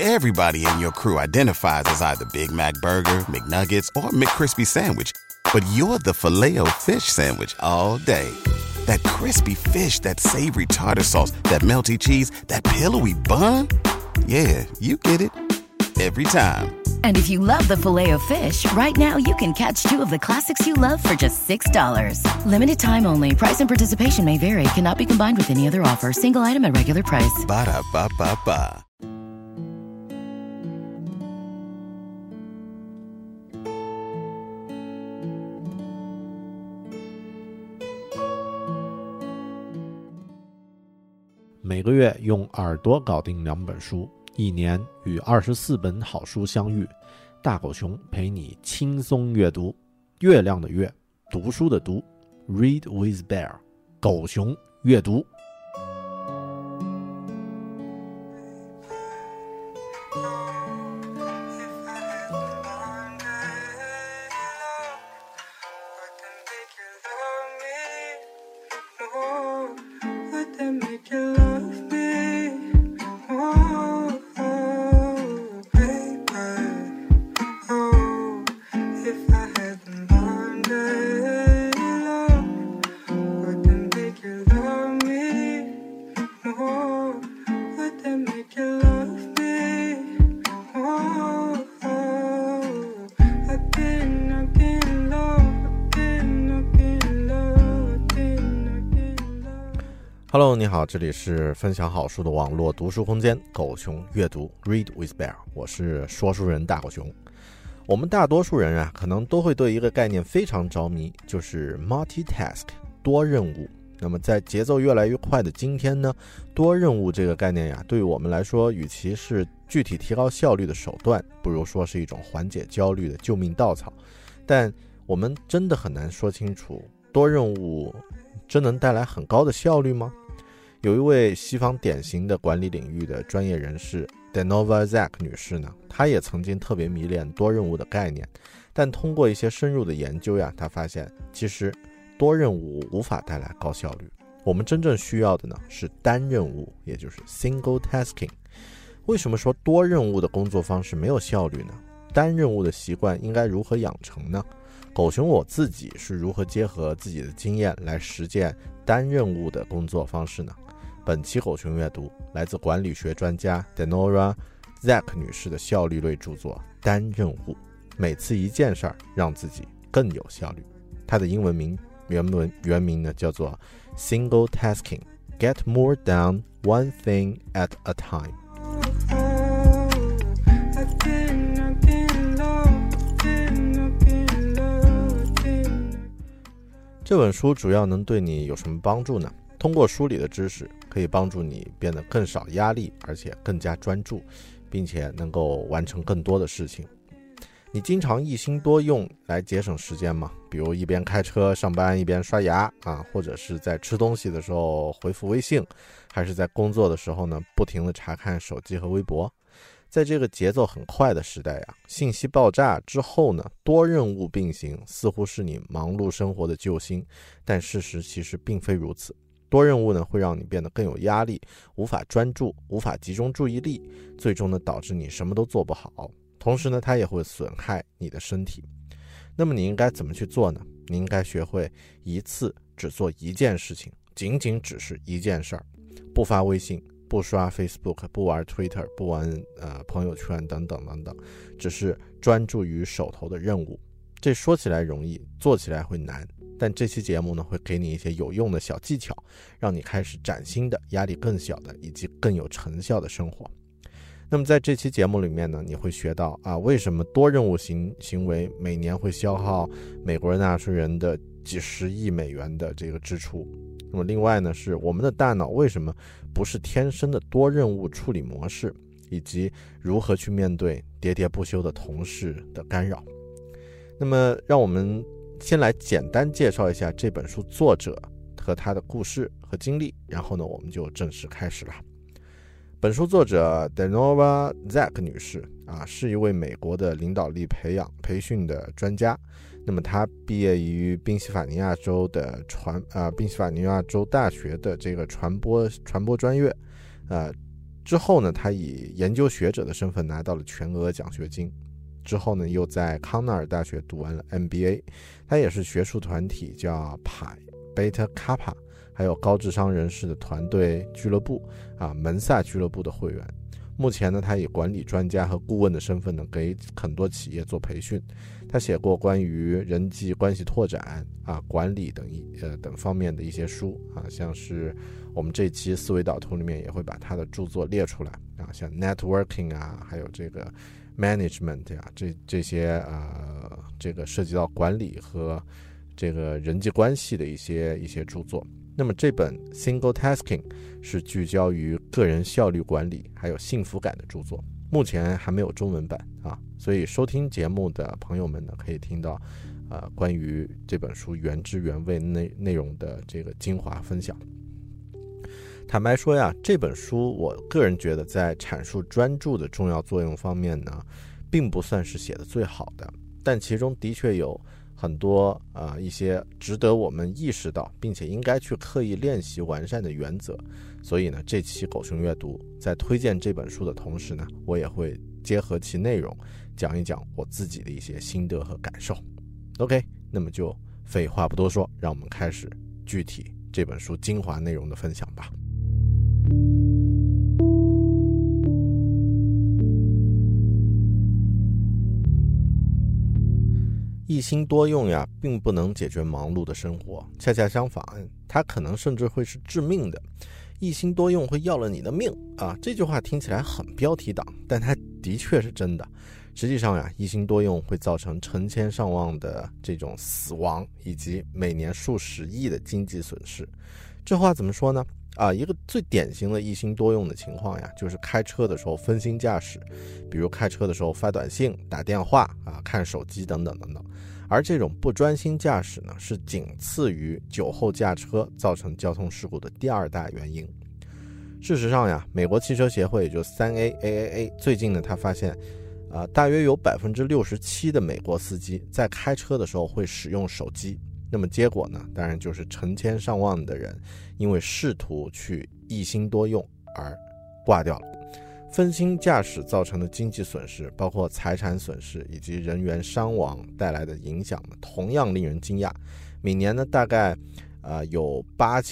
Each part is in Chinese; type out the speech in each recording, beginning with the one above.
Everybody in your crew identifies as either Big Mac Burger, McNuggets, or McCrispy Sandwich. But you're the Filet-O-Fish Sandwich all day. That crispy fish, that savory tartar sauce, that melty cheese, that pillowy bun. Yeah, you get it. Every time. And if you love the Filet-O-Fish, right now you can catch two of the classics you love for just $6. Limited time only. Price and participation may vary. Cannot be combined with any other offer. Single item at regular price. Ba-da-ba-ba-ba. 每个月用耳朵搞定2本书，一年与24本好书相遇。大狗熊陪你轻松阅读。月亮的月，读书的读 ，Read with Bear， 狗熊阅读。Hello， 你好，这里是分享好书的网络读书空间，狗熊阅读 Read with Bear， 我是说书人大狗熊。我们大多数人啊，可能都会对一个概念非常着迷，就是 multitask 多任务。那么在节奏越来越快的今天呢，多任务这个概念呀，对于我们来说，与其是具体提高效率的手段，不如说是一种缓解焦虑的救命稻草。但我们真的很难说清楚，多任务真能带来很高的效率吗？有一位西方典型的管理领域的专业人士 Denova Zak 女士呢，她也曾经特别迷恋多任务的概念，但通过一些深入的研究呀，她发现其实多任务无法带来高效率。我们真正需要的呢是单任务，也就是 single tasking。 为什么说多任务的工作方式没有效率呢？单任务的习惯应该如何养成呢？狗熊我自己是如何结合自己的经验来实践单任务的工作方式呢？本期狗熊阅读来自管理学专家 Denora Zak 女士的效率类著作《单任务》，每次一件事儿让自己更有效率。它的英文名原名呢叫做 Single Tasking Get More Done One Thing at a Time。 这本书主要能对你有什么帮助呢？通过书里的知识，可以帮助你变得更少压力，而且更加专注，并且能够完成更多的事情。你经常一心多用来节省时间吗？比如一边开车上班一边刷牙啊，或者是在吃东西的时候回复微信，还是在工作的时候呢，不停地查看手机和微博。在这个节奏很快的时代呀，信息爆炸之后呢，多任务并行似乎是你忙碌生活的救星，但事实其实并非如此。多任务呢，会让你变得更有压力，无法专注，无法集中注意力，最终呢，导致你什么都做不好。同时呢，它也会损害你的身体。那么你应该怎么去做呢？你应该学会一次只做一件事情，仅仅只是一件事儿，不发微信，不刷 Facebook， 不玩 Twitter， 不玩朋友圈等等等等，只是专注于手头的任务。这说起来容易，做起来会难。但这期节目呢，会给你一些有用的小技巧，让你开始崭新的、压力更小的以及更有成效的生活。那么在这期节目里面呢，你会学到为什么多任务行为每年会消耗美国纳税人的几十亿美元的这个支出。那么另外呢，是我们的大脑为什么不是天生的多任务处理模式，以及如何去面对喋喋不休的同事的干扰。那么让我们先来简单介绍一下这本书作者和他的故事和经历，然后呢，我们就正式开始了。本书作者 Denova Zak 女士是一位美国的领导力培训的专家。那么她毕业于宾夕法尼亚州大学的这个传播专业， 之后呢，他以研究学者的身份拿到了全额奖学金。之后呢，又在康奈尔大学读完了 MBA。他也是学术团体叫派 Beta Kappa， 还有高智商人士的团队俱乐部门萨俱乐部的会员。目前呢，他以管理专家和顾问的身份呢，给很多企业做培训。他写过关于人际关系拓展管理等方面的一些书像是我们这期思维导图里面也会把他的著作列出来像 networking 还有这个 management 这些这个涉及到管理和这个人际关系的一些著作。那么这本 Single Tasking 是聚焦于个人效率管理还有幸福感的著作，目前还没有中文版所以收听节目的朋友们呢，可以听到关于这本书原汁原味内容的这个精华分享。坦白说呀，这本书我个人觉得在阐述专注的重要作用方面呢，并不算是写的最好的，但其中的确有很多一些值得我们意识到并且应该去刻意练习完善的原则。所以呢，这期狗熊阅读在推荐这本书的同时呢，我也会结合其内容讲一讲我自己的一些心得和感受。 OK， 那么就废话不多说，让我们开始具体这本书精华内容的分享吧。一心多用呀，并不能解决忙碌的生活，恰恰相反，它可能甚至会是致命的。一心多用会要了你的命这句话听起来很标题党，但它的确是真的。实际上呀，一心多用会造成成千上万的这种死亡，以及每年数十亿的经济损失。这话怎么说呢？一个最典型的一心多用的情况呀，就是开车的时候分心驾驶，比如开车的时候发短信、打电话看手机等等等等。而这种不专心驾驶呢，是仅次于酒后驾车造成交通事故的第二大原因。事实上呀，美国汽车协会也就 3AAA 最近呢，他发现大约有 67% 的美国司机在开车的时候会使用手机。那么结果呢，当然就是成千上万的人因为试图去一心多用而挂掉了。分心驾驶造成的经济损失，包括财产损失以及人员伤亡带来的影响呢，同样令人惊讶。每年呢，大概有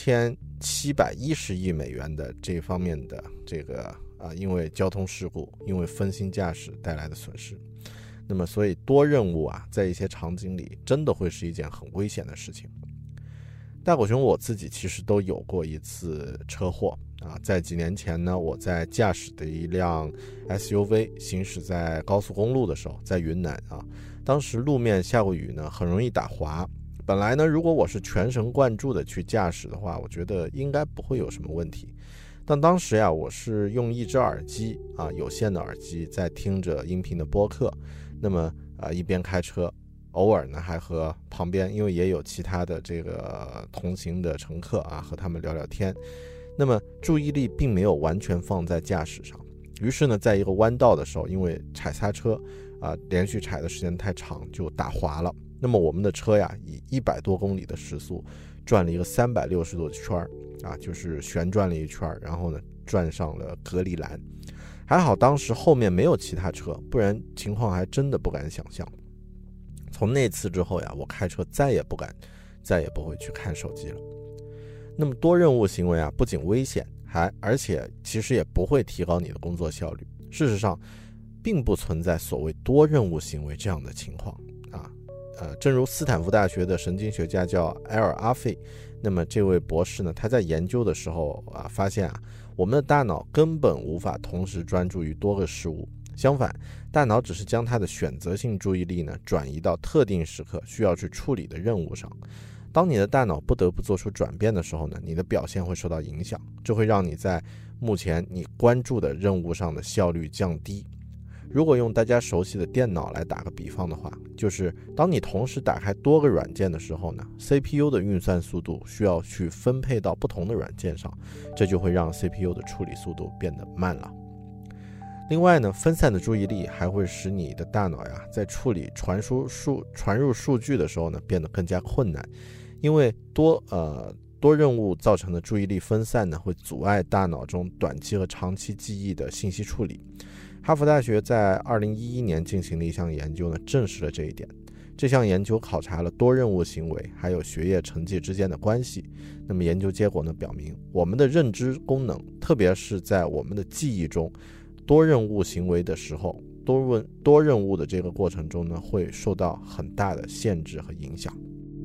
8710亿美元的这方面的这个因为交通事故、因为分心驾驶带来的损失。那么所以多任务在一些场景里真的会是一件很危险的事情。大狗熊我自己其实都有过一次车祸在几年前呢，我在驾驶的一辆 SUV 行驶在高速公路的时候，在云南当时路面下过雨呢，很容易打滑。本来呢，如果我是全神贯注的去驾驶的话，我觉得应该不会有什么问题。但当时呀，我是用一只耳机有线的耳机在听着音频的播客，那么一边开车，偶尔呢还和旁边因为也有其他的这个同行的乘客和他们聊聊天，那么注意力并没有完全放在驾驶上。于是呢，在一个弯道的时候，因为踩刹车连续踩的时间太长，就打滑了。那么我们的车呀，以100多公里的时速转了一个360度的圈就是旋转了一圈，然后呢转上了隔离栏。还好当时后面没有其他车，不然情况还真的不敢想象。从那次之后呀，我开车再也不会去看手机了。那么多任务行为不仅危险，而且其实也不会提高你的工作效率。事实上并不存在所谓多任务行为这样的情况正如斯坦福大学的神经学家叫埃尔阿费，那么这位博士呢，他在研究的时候发现我们的大脑根本无法同时专注于多个事物，相反，大脑只是将它的选择性注意力呢转移到特定时刻需要去处理的任务上。当你的大脑不得不做出转变的时候呢，你的表现会受到影响，这会让你在目前你关注的任务上的效率降低。如果用大家熟悉的电脑来打个比方的话，就是当你同时打开多个软件的时候呢， CPU 的运算速度需要去分配到不同的软件上，这就会让 CPU 的处理速度变得慢了。另外呢，分散的注意力还会使你的大脑在处理传入数据的时候呢变得更加困难，因为多任务造成的注意力分散呢，会阻碍大脑中短期和长期记忆的信息处理。哈佛大学在2011年进行的一项研究呢，证实了这一点。这项研究考察了多任务行为还有学业成绩之间的关系。那么研究结果呢表明，我们的认知功能，特别是在我们的记忆中，多任务行为的时候，多任务的这个过程中呢，会受到很大的限制和影响。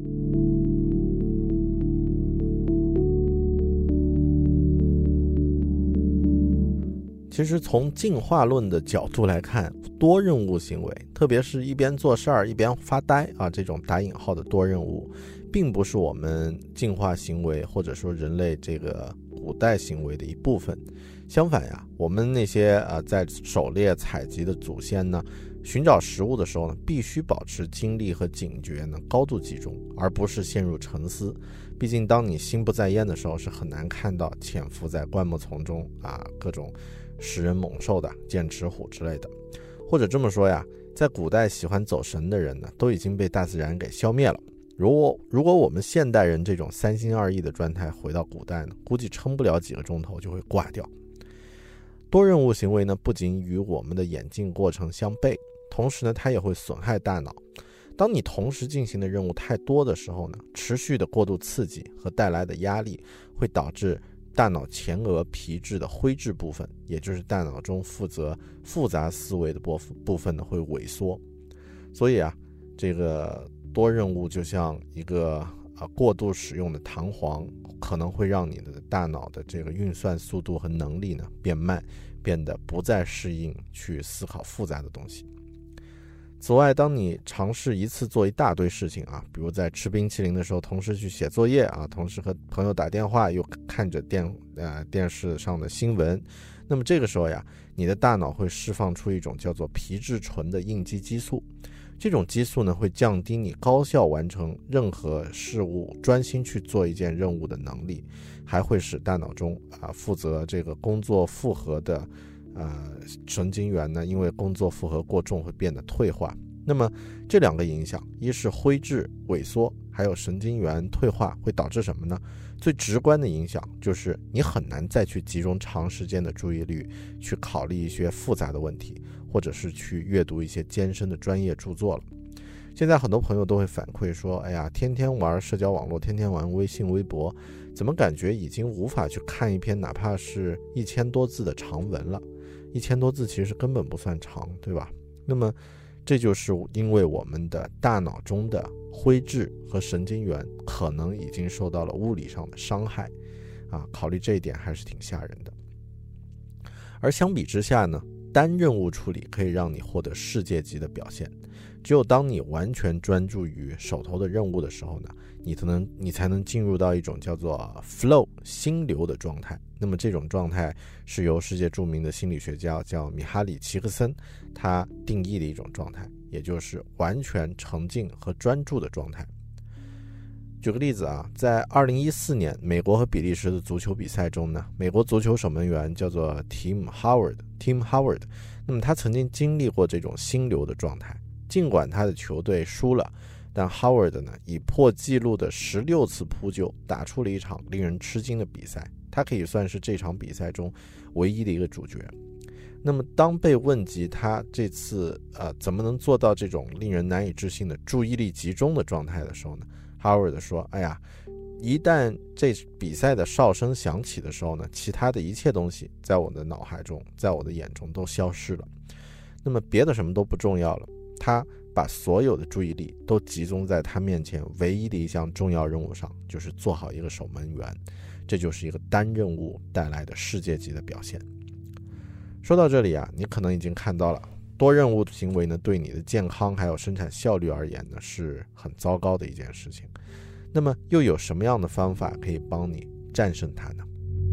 其实从进化论的角度来看，多任务行为，特别是一边做事儿一边发呆啊，这种打引号的多任务，并不是我们进化行为或者说人类这个古代行为的一部分。相反呀，我们那些在狩猎采集的祖先呢，寻找食物的时候呢，必须保持精力和警觉呢高度集中，而不是陷入沉思。毕竟当你心不在焉的时候，是很难看到潜伏在灌木丛中各种食人猛兽的剑齿虎之类的。或者这么说呀，在古代喜欢走神的人呢，都已经被大自然给消灭了。如果我们现代人这种三心二意的状态回到古代呢，估计撑不了几个钟头就会挂掉。多任务行为呢，不仅与我们的演进过程相悖，同时呢，它也会损害大脑。当你同时进行的任务太多的时候呢，持续的过度刺激和带来的压力会导致大脑前额皮质的灰质部分，也就是大脑中负责复杂思维的部分呢，会萎缩。所以这个多任务就像一个过度使用的弹簧，可能会让你的大脑的这个运算速度和能力呢变慢，变得不再适应去思考复杂的东西。此外，当你尝试一次做一大堆事情比如在吃冰淇淋的时候同时去写作业同时和朋友打电话，又看着电视上的新闻，那么这个时候你的大脑会释放出一种叫做皮质醇的应激激素。这种激素呢，会降低你高效完成任何事物、专心去做一件任务的能力，还会使大脑中负责这个工作负荷的神经元呢，因为工作负荷过重会变得退化。那么这两个影响，一是灰质萎缩，还有神经元退化，会导致什么呢？最直观的影响就是你很难再去集中长时间的注意力去考虑一些复杂的问题，或者是去阅读一些艰深的专业著作了。现在很多朋友都会反馈说，哎呀，天天玩社交网络，天天玩微信微博，怎么感觉已经无法去看一篇哪怕是1000多字的长文了。1000多字其实根本不算长，对吧？那么这就是因为我们的大脑中的灰质和神经元可能已经受到了物理上的伤害考虑这一点还是挺吓人的。而相比之下呢，单任务处理可以让你获得世界级的表现。只有当你完全专注于手头的任务的时候呢，你才能进入到一种叫做 flow 心流的状态。那么这种状态是由世界著名的心理学家叫米哈里奇克森他定义的一种状态，也就是完全沉浸和专注的状态。举个例子在2014年美国和比利时的足球比赛中呢，美国足球守门员叫做 Tim Howard， 那么他曾经经历过这种心流的状态。尽管他的球队输了，但 Howard 呢以破纪录的16次扑救打出了一场令人吃惊的比赛，他可以算是这场比赛中唯一的一个主角。那么当被问及他这次怎么能做到这种令人难以置信的注意力集中的状态的时候呢， Howard 说，哎呀，一旦这比赛的哨声响起的时候呢，其他的一切东西在我的脑海中，在我的眼中都消失了，那么别的什么都不重要了，他把所有的注意力都集中在他面前唯一的一项重要任务上，就是做好一个守门员。这就是一个单任务带来的世界级的表现。说到这里你可能已经看到了，多任务行为呢，对你的健康还有生产效率而言呢，是很糟糕的一件事情。那么又有什么样的方法可以帮你战胜它呢？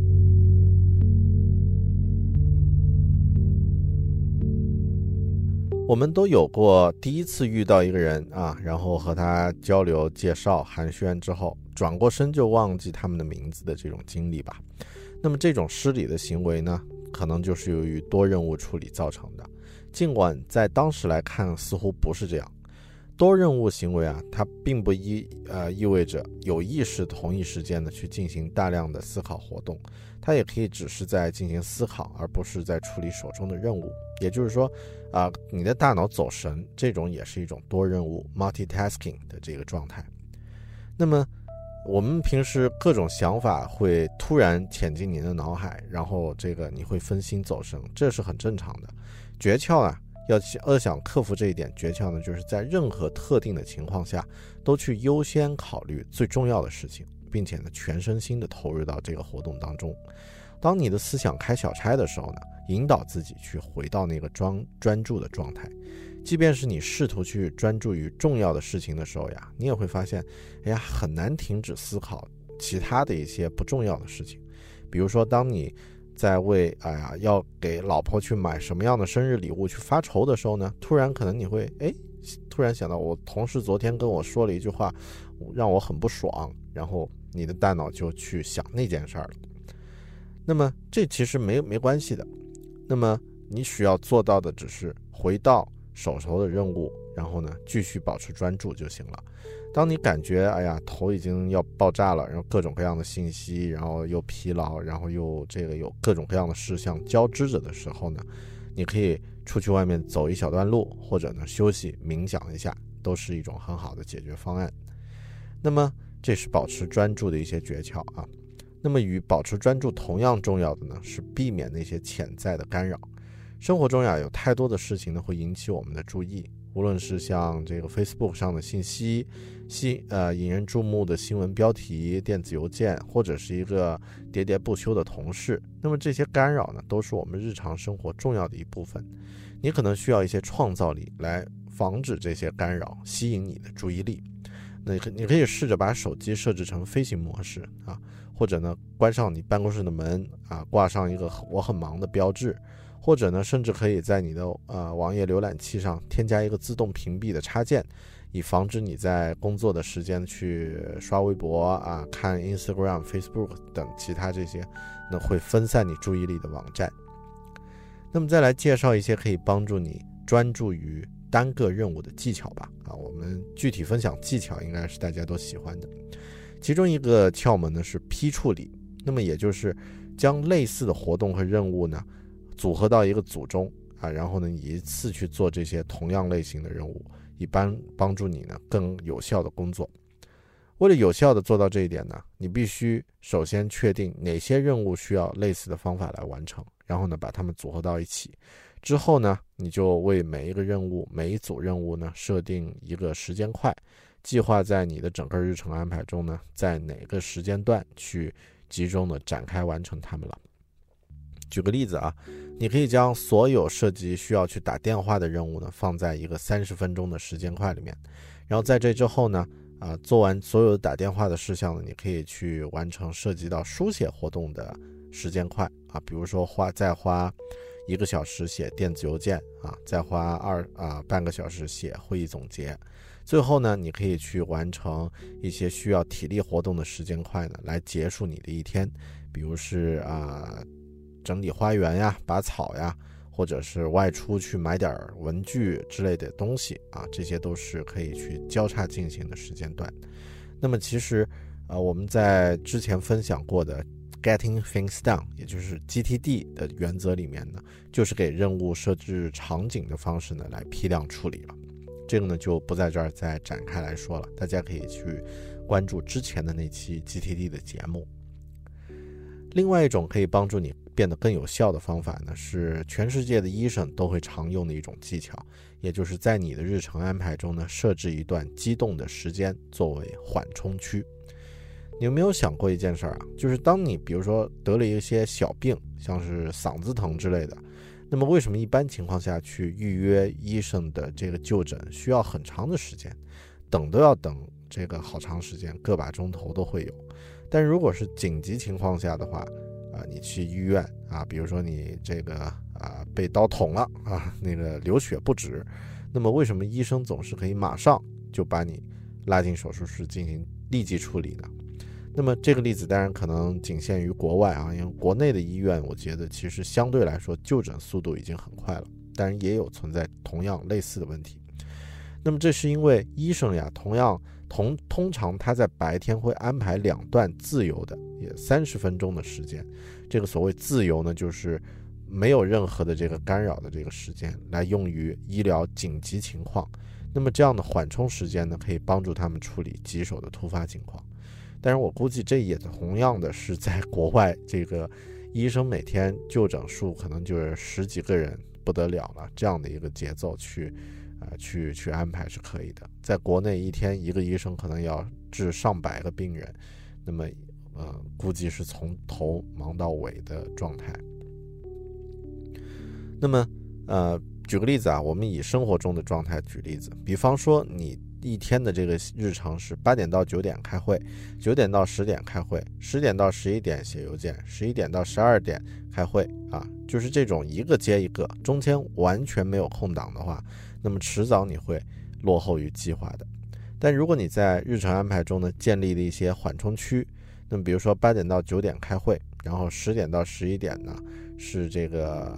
我们都有过第一次遇到一个人然后和他交流介绍寒暄之后转过身就忘记他们的名字的这种经历吧。那么这种失礼的行为呢，可能就是由于多任务处理造成的，尽管在当时来看似乎不是这样。 多任务行为啊，它并不意味着有意识同一时间呢去进行大量的思考活动，它也可以只是在进行思考，而不是在处理手中的任务。也就是说你的大脑走神，这种也是一种多任务 multitasking 的这个状态。那么我们平时各种想法会突然潜进你的脑海，然后你会分心走神，这是很正常的。诀窍啊，要想克服这一点，诀窍呢就是在任何特定的情况下都去优先考虑最重要的事情，并且呢全身心的投入到这个活动当中。当你的思想开小差的时候呢，引导自己去回到那个专注的状态。即便是你试图去专注于重要的事情的时候呀，你也会发现很难停止思考其他的一些不重要的事情。比如说当你在为要给老婆去买什么样的生日礼物去发愁的时候呢，突然可能你会突然想到我同事昨天跟我说了一句话让我很不爽，然后你的大脑就去想那件事儿了。那么这其实没关系的，那么你需要做到的只是回到手头的任务，然后呢继续保持专注就行了。当你感觉头已经要爆炸了，然后各种各样的信息，然后又疲劳，然后又有各种各样的事项交织着的时候呢，你可以出去外面走一小段路，或者呢休息冥想一下，都是一种很好的解决方案。那么这是保持专注的一些诀窍啊。那么与保持专注同样重要的呢，是避免那些潜在的干扰。生活中有太多的事情呢会引起我们的注意，无论是像这个 Facebook 上的信息，引人注目的新闻标题、电子邮件，或者是一个喋喋不休的同事。那么这些干扰呢，都是我们日常生活重要的一部分。你可能需要一些创造力来防止这些干扰吸引你的注意力。那你可以试着把手机设置成飞行模式或者呢关上你办公室的门挂上一个我很忙的标志，或者呢甚至可以在你的网页浏览器上添加一个自动屏蔽的插件，以防止你在工作的时间去刷微博看 Instagram、Facebook 等其他这些那会分散你注意力的网站。那么再来介绍一些可以帮助你专注于单个任务的技巧吧我们具体分享技巧应该是大家都喜欢的。其中一个窍门呢是批处理，那么也就是将类似的活动和任务呢组合到一个组中然后呢一次去做这些同样类型的任务，以帮助你呢更有效的工作。为了有效的做到这一点呢，你必须首先确定哪些任务需要类似的方法来完成，然后呢把它们组合到一起。之后呢，你就为每一个任务、每一组任务呢设定一个时间块，计划在你的整个日程安排中呢，在哪个时间段去集中的展开完成它们了。举个例子你可以将所有涉及需要去打电话的任务呢放在一个30分钟的时间块里面，然后在这之后呢做完所有打电话的事项呢，你可以去完成涉及到书写活动的时间块比如说再花1个小时写电子邮件再花半个小时写会议总结。最后呢，你可以去完成一些需要体力活动的时间块呢，来结束你的一天，比如是整理花园呀、拔草呀，或者是外出去买点文具之类的东西这些都是可以去交叉进行的时间段。那么其实我们在之前分享过的 Getting Things Done， 也就是 GTD 的原则里面呢，就是给任务设置场景的方式呢来批量处理了。这个呢就不在这儿再展开来说了，大家可以去关注之前的那期 GTD 的节目。另外一种可以帮助你变得更有效的方法呢，是全世界的医生都会常用的一种技巧，也就是在你的日程安排中呢，设置一段机动的时间作为缓冲区。你有没有想过一件事就是当你比如说得了一些小病，像是嗓子疼之类的，那么为什么一般情况下去预约医生的这个就诊需要很长的时间，等都要等这个好长时间，个把钟头都会有。但如果是紧急情况下的话你去医院比如说你这个被刀捅了那个流血不止，那么为什么医生总是可以马上就把你拉进手术室进行立即处理呢？那么这个例子当然可能仅限于国外因为国内的医院我觉得其实相对来说就诊速度已经很快了，但是也有存在同样类似的问题。 那么这是因为医生呀，通常他在白天会安排2段自由的，也30分钟的时间。这个所谓自由呢，就是没有任何的这个干扰的这个时间，来用于医疗紧急情况。那么这样的缓冲时间呢，可以帮助他们处理棘手的突发情况。但是我估计这也同样的是在国外，这个医生每天就诊数可能就是10几个人不得了了，这样的一个节奏去安排是可以的。在国内一天一个医生可能要治上百个病人，那么估计是从头忙到尾的状态。那么举个例子啊，我们以生活中的状态举例子，比方说你一天的这个日常是8点到9点开会，9点到10点开会，10点到11点写邮件，11点到12点开会啊，就是这种一个接一个，中间完全没有空档的话，那么迟早你会落后于计划的。但如果你在日程安排中呢，建立了一些缓冲区，那么比如说8点到9点开会，然后10点到11点呢是这个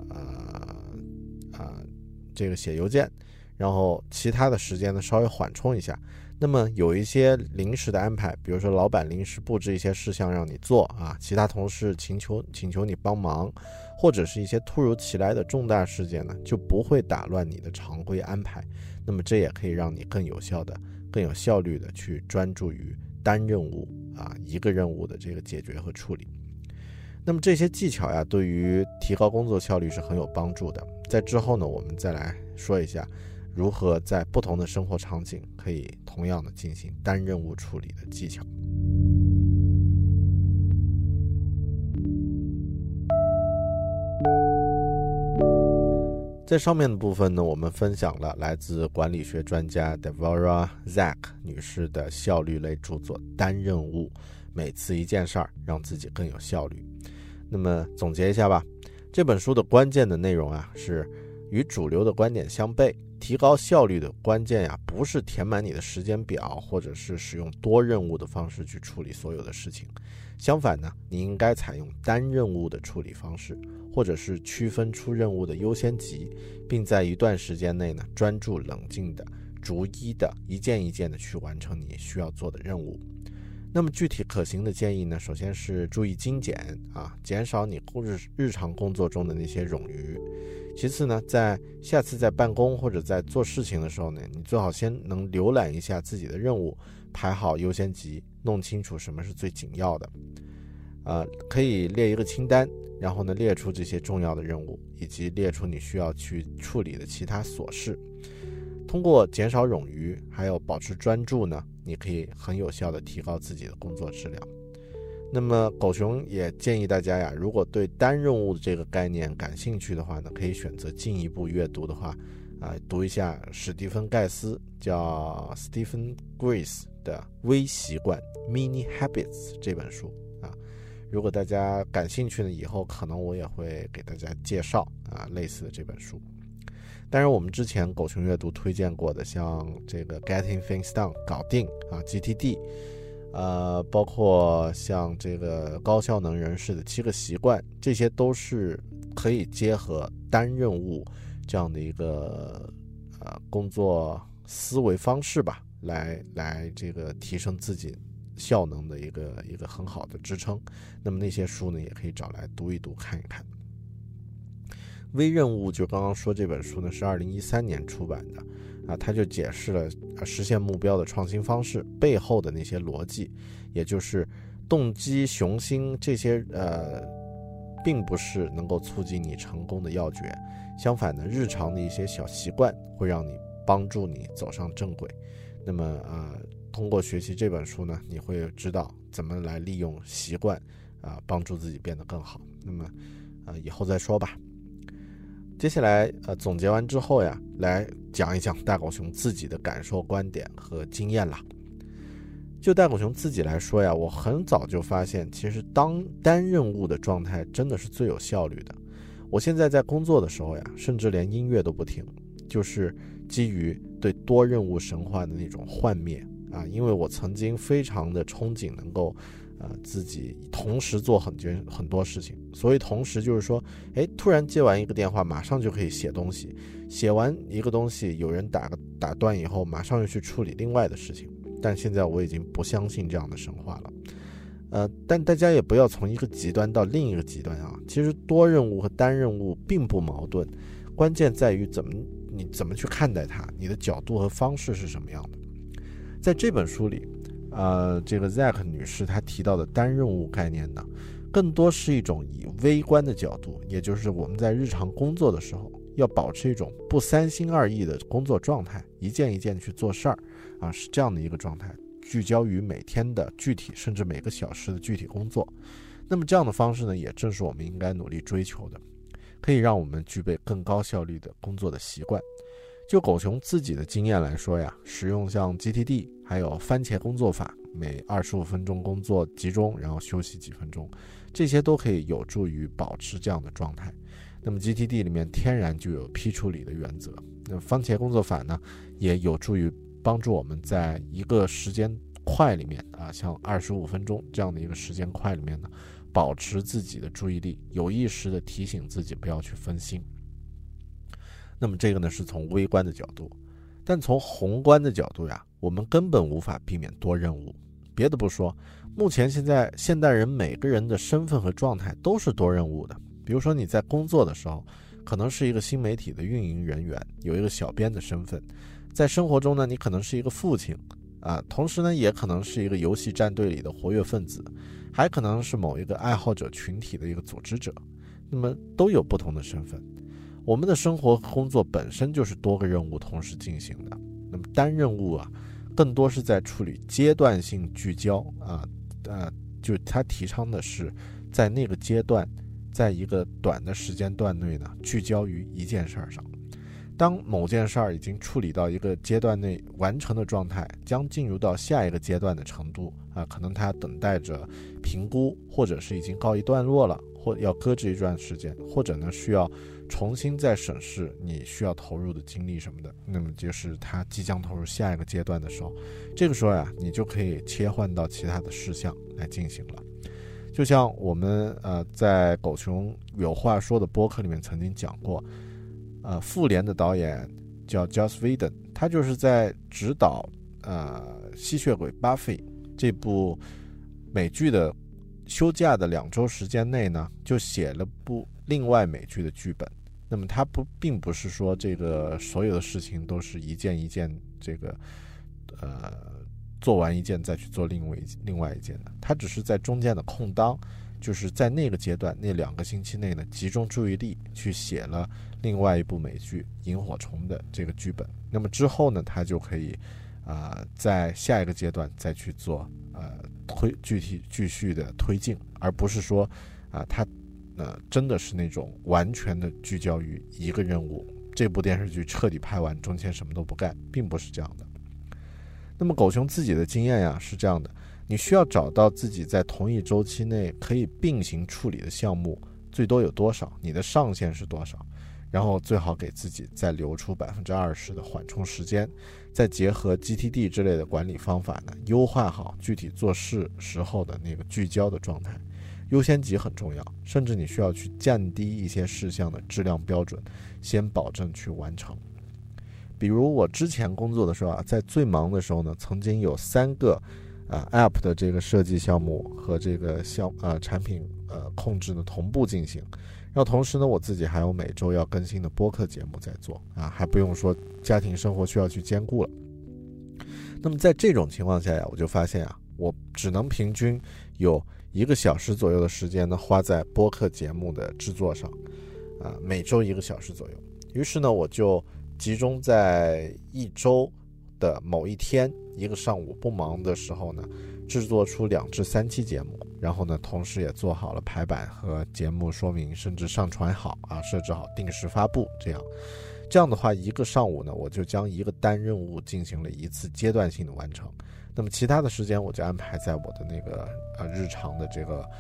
写邮件，然后其他的时间呢稍微缓冲一下。那么有一些临时的安排，比如说老板临时布置一些事项让你做啊，其他同事请求你帮忙，或者是一些突如其来的重大事件呢，就不会打乱你的常规安排。那么这也可以让你更有效率的去专注于单任务啊，一个任务的这个解决和处理。那么这些技巧呀，对于提高工作效率是很有帮助的。在之后呢，我们再来说一下如何在不同的生活场景可以同样的进行单任务处理的技巧。在上面的部分呢，我们分享了来自管理学专家 Devorah Zack 女士的效率类著作《单任务》，每次一件事儿，让自己更有效率。那么总结一下吧，这本书的关键的内容啊，是与主流的观点相悖。提高效率的关键呀，不是填满你的时间表，或者是使用多任务的方式去处理所有的事情。相反呢，你应该采用单任务的处理方式，或者是区分出任务的优先级，并在一段时间内呢，专注冷静的、逐一的、一件一件的去完成你需要做的任务。那么具体可行的建议呢，首先是注意精简啊，减少你日常工作中的那些冗余。其次呢，下次在办公或者在做事情的时候呢，你最好先能浏览一下自己的任务，排好优先级，弄清楚什么是最紧要的。可以列一个清单，然后呢列出这些重要的任务，以及列出你需要去处理的其他琐事。通过减少冗余，还有保持专注呢，你可以很有效地提高自己的工作质量。那么狗熊也建议大家呀，如果对单任务这个概念感兴趣的话呢，可以选择进一步阅读的话，读一下史蒂芬盖斯叫 Stephen Grace 的微习惯 Mini Habits 这本书啊。如果大家感兴趣呢，以后可能我也会给大家介绍类似的这本书。当然我们之前狗熊阅读推荐过的，像这个 Getting Things Done 搞定GTD，包括像这个高效能人士的7个习惯，这些都是可以结合单任务这样的一个工作思维方式吧，来这个提升自己效能的一个很好的支撑。那么那些书呢，也可以找来读一读看一看。微任务就刚刚说这本书呢是2013年出版的它就解释了实现目标的创新方式背后的那些逻辑，也就是动机雄心这些并不是能够促进你成功的要诀，相反呢，日常的一些小习惯会让你帮助你走上正轨。那么通过学习这本书呢，你会知道怎么来利用习惯帮助自己变得更好。那么以后再说吧。接下来总结完之后呀，来讲一讲大狗熊自己的感受、观点和经验啦。就大狗熊自己来说呀，我很早就发现，其实单任务的状态真的是最有效率的。我现在在工作的时候呀，甚至连音乐都不听，就是基于对多任务神话的那种幻灭因为我曾经非常的憧憬能够自己同时做很多事情。所谓同时就是说，突然接完一个电话马上就可以写东西，写完一个东西有人打断以后马上又去处理另外的事情。但现在我已经不相信这样的神话了。但大家也不要从一个极端到另一个极端啊。其实多任务和单任务并不矛盾，关键在于你怎么去看待它，你的角度和方式是什么样的。在这本书里这个 Zack 女士她提到的单任务概念呢，更多是一种以微观的角度，也就是我们在日常工作的时候要保持一种不三心二意的工作状态，一件一件去做事儿是这样的一个状态，聚焦于每天的具体甚至每个小时的具体工作。那么这样的方式呢，也正是我们应该努力追求的，可以让我们具备更高效率的工作的习惯。就狗熊自己的经验来说呀，使用像 GTD 还有番茄工作法，每25分钟工作集中，然后休息几分钟，这些都可以有助于保持这样的状态。那么 GTD 里面天然就有批处理的原则，那么番茄工作法呢，也有助于帮助我们在一个时间块里面像25分钟这样的一个时间块里面呢，保持自己的注意力，有意识的提醒自己不要去分心。那么这个呢是从微观的角度，但从宏观的角度呀，我们根本无法避免多任务。别的不说，目前现代人每个人的身份和状态都是多任务的。比如说你在工作的时候，可能是一个新媒体的运营人员，有一个小编的身份；在生活中呢，你可能是一个父亲同时呢，也可能是一个游戏战队里的活跃分子，还可能是某一个爱好者群体的一个组织者。那么都有不同的身份。我们的生活和工作本身就是多个任务同时进行的。那么单任务更多是在处理阶段性聚焦就他提倡的是在那个阶段，在一个短的时间段内呢，聚焦于一件事上。当某件事儿已经处理到一个阶段内完成的状态，将进入到下一个阶段的程度可能它等待着评估，或者是已经告一段落了，或要搁置一段时间，或者呢需要重新再审视你需要投入的精力什么的。那么就是它即将投入下一个阶段的时候，这个时候你就可以切换到其他的事项来进行了。就像我们在狗熊有话说的播客里面曾经讲过，复联的导演叫 Joss Whedon， 他就是在指导吸血鬼巴菲这部美剧的休假的2周时间内呢，就写了部另外美剧的剧本。那么他并不是说这个所有的事情都是一件一件这个做完一件再去做另外一件的，他只是在中间的空档，就是在那个阶段那2个星期内呢，集中注意力去写了另外一部美剧《萤火虫》的这个剧本。那么之后呢，他就可以在下一个阶段再去做继续的推进，而不是说他真的是那种完全的聚焦于一个任务，这部电视剧彻底拍完中间什么都不干，并不是这样的。那么狗熊自己的经验呀是这样的，你需要找到自己在同一周期内可以并行处理的项目最多有多少，你的上限是多少，然后最好给自己再留出20%的缓冲时间，再结合 GTD 之类的管理方法呢，优化好具体做事时候的那个聚焦的状态。优先级很重要，甚至你需要去降低一些事项的质量标准，先保证去完成。比如我之前工作的时候在最忙的时候呢，曾经有3个App 的这个设计项目和这个产品控制呢同步进行，然后同时呢，我自己还有每周要更新的播客节目在做还不用说家庭生活需要去兼顾了。那么在这种情况下我就发现我只能平均有1个小时左右的时间呢花在播客节目的制作上每周1个小时左右。于是呢，我就集中在1周的某一天1个上午不忙的时候呢，制作出2至3期节目，然后呢，同时也做好了排版和节目说明，甚至上传好设置好定时发布。这样的话，1个上午呢，我就将1个单任务进行了1次阶段性的完成。那么其他的时间我就安排在我的那个日常的这个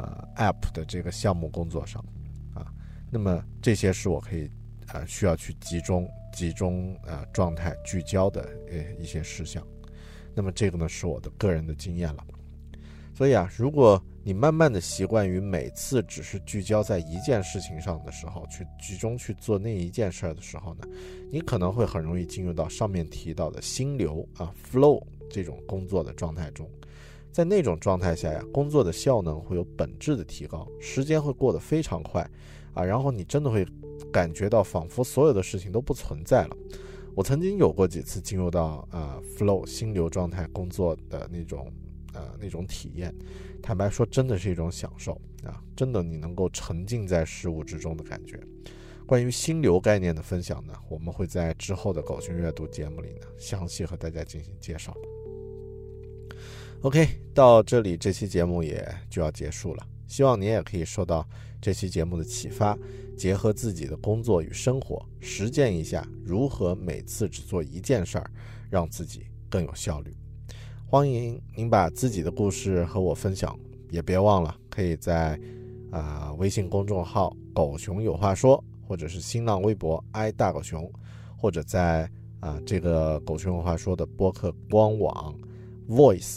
App 的这个项目工作上那么这些是我可以需要去集中状态聚焦的一些事项。那么这个呢是我的个人的经验了。 所以如果你慢慢的习惯于每次只是聚焦在一件事情上的时候，去集中去做那一件事的时候呢，你可能会很容易进入到上面提到的心流flow 这种工作的状态中。在那种状态下工作的效能会有本质的提高，时间会过得非常快然后你真的会感觉到仿佛所有的事情都不存在了。我曾经有过几次进入到flow 心流状态工作的那种体验，坦白说真的是一种享受真的你能够沉浸在事物之中的感觉。关于心流概念的分享呢，我们会在之后的狗熊阅读节目里呢详细和大家进行介绍。OK， 到这里这期节目也就要结束了，希望你也可以受到这期节目的启发，结合自己的工作与生活，实践一下如何每次只做一件事儿，让自己更有效率。欢迎您把自己的故事和我分享，也别忘了可以在微信公众号狗熊有话说，或者是新浪微博爱大狗熊，或者在这个狗熊有话说的播客官网 voice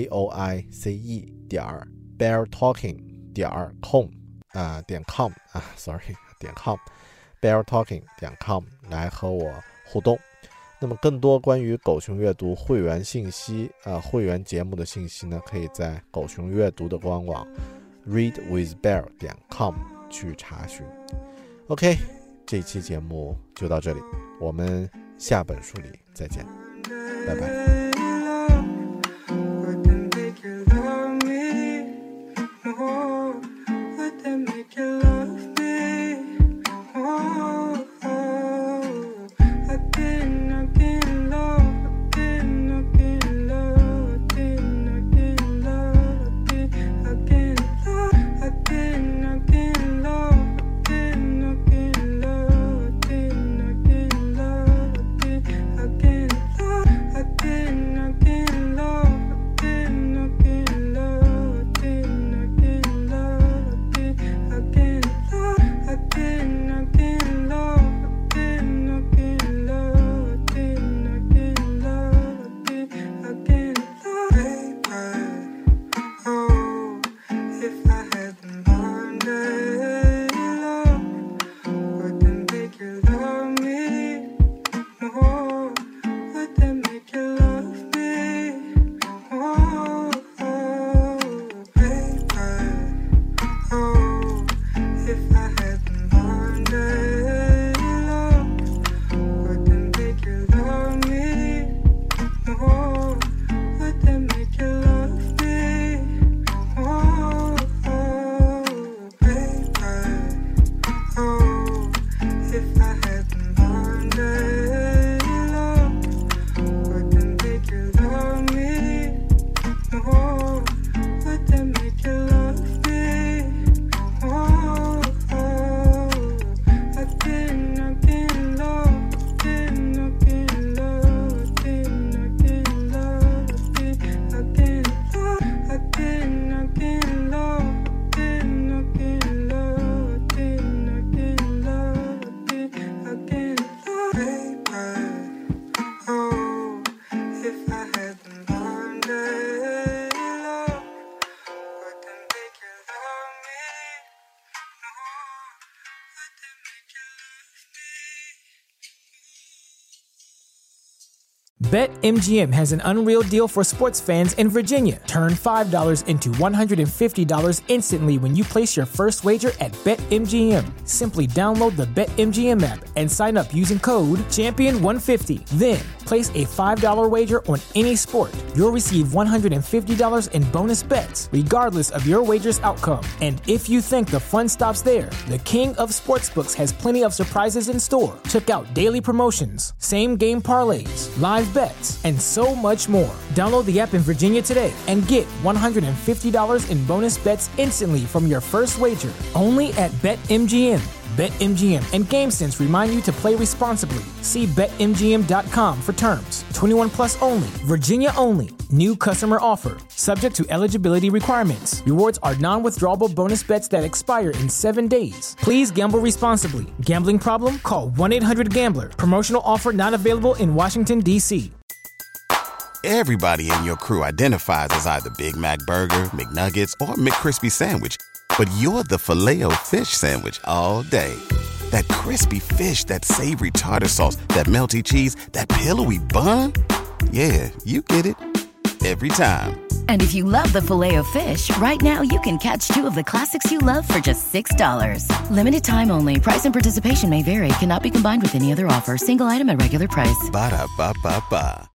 beartalking.com beartalking.com 来和我互动。那么更多关于狗熊阅读会员信息会员节目的信息呢，可以在狗熊阅读的官网 readwithbear.com 去查询。 OK， 这一期节目就到这里，我们下本书里再见，拜拜。 BetMGM has an unreal deal for sports fans in Virginia. Turn $5 into $150 instantly when you place your first wager at BetMGM. Simply download the BetMGM app and sign up using code Champion150. Then, place a $5 wager on any sport. You'll receive $150 in bonus bets, regardless of your wager's outcome. And if you think the fun stops there, the king of sportsbooks has plenty of surprises in store. Check out daily promotions, same-game parlays, live bets, and so much more. Download the app in Virginia today and get $150 in bonus bets instantly from your first wager. Only at BetMGM. BetMGM and GameSense remind you to play responsibly. See BetMGM.com for terms. 21 plus only. Virginia only. New customer offer. Subject to eligibility requirements. Rewards are non-withdrawable bonus bets that expire in 7 days. Please gamble responsibly. Gambling problem? Call 1-800-GAMBLER. Promotional offer not available in Washington, D.C. Everybody in your crew identifies as either Big Mac Burger, McNuggets, or McCrispy Sandwich. But you're the Filet-O-Fish Sandwich all day. That crispy fish, that savory tartar sauce, that melty cheese, that pillowy bun. Yeah, you get it. Every time. And if you love the Filet-O-Fish, right now you can catch two of the classics you love for just $6. Limited time only. Price and participation may vary. Cannot be combined with any other offer. Single item at regular price. Ba-da-ba-ba-ba.